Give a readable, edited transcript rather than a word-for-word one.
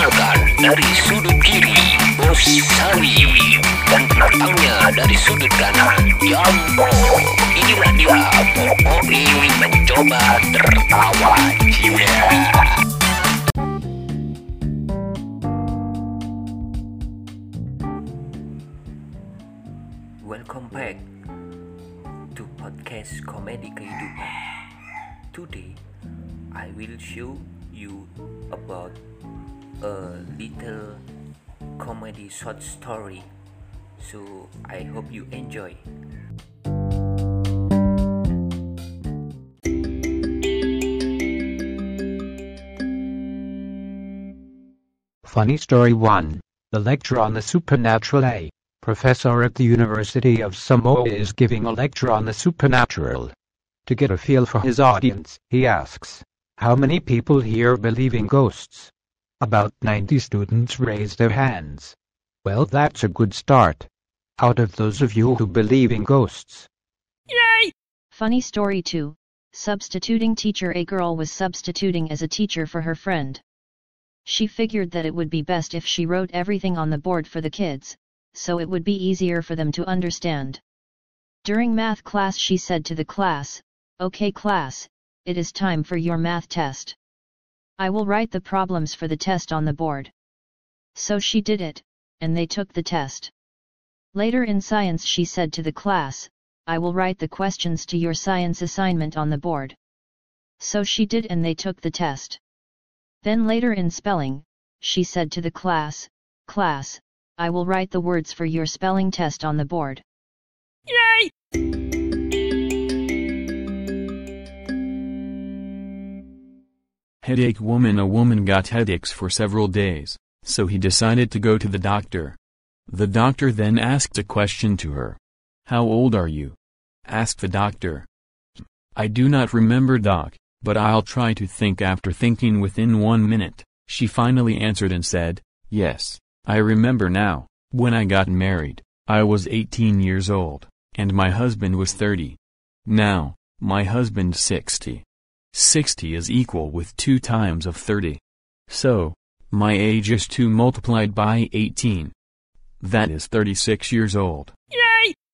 Perkenalkan, dari sudut kiri, Bos Sari. Dan penantangnya dari sudut kanan, Jambo. Inilah dia, Popoi mencoba tertawa jiwa. Welcome back to podcast Komedi Kehidupan. Today, I will show you about a little comedy short story. So, I hope you enjoy. Funny Story 1. The lecture on the supernatural. A professor at the University of Samoa is giving a lecture on the supernatural. To get a feel for his audience, he asks, "How many people here believe in ghosts?" About 90 students raise their hands. Well, that's a good start. Out of those of you who believe in ghosts. Yay! Funny Story 2. Substituting teacher. A girl was substituting as a teacher for her friend. She figured that it would be best if she wrote everything on the board for the kids, so it would be easier for them to understand. During math class she said to the class, "Okay class, it is time for your math test. I will write the problems for the test on the board." So she did it, and they took the test. Later in science she said to the class, "I will write the questions to your science assignment on the board." So she did, and they took the test. Then later in spelling, she said to the class, "Class, I will write the words for your spelling test on the board." Yay! Headache woman. A woman got headaches for several days, so he decided to go to the doctor. The doctor then asked a question to her. "How old are you?" asked the doctor. "I do not remember, doc, but I'll try to think." After thinking within 1 minute, she finally answered and said, "Yes, I remember now. When I got married, I was 18 years old, and my husband was 30. Now, my husband's 60. 60 is equal with 2 times of 30. So, my age is 2 multiplied by 18. That is 36 years old." Yay!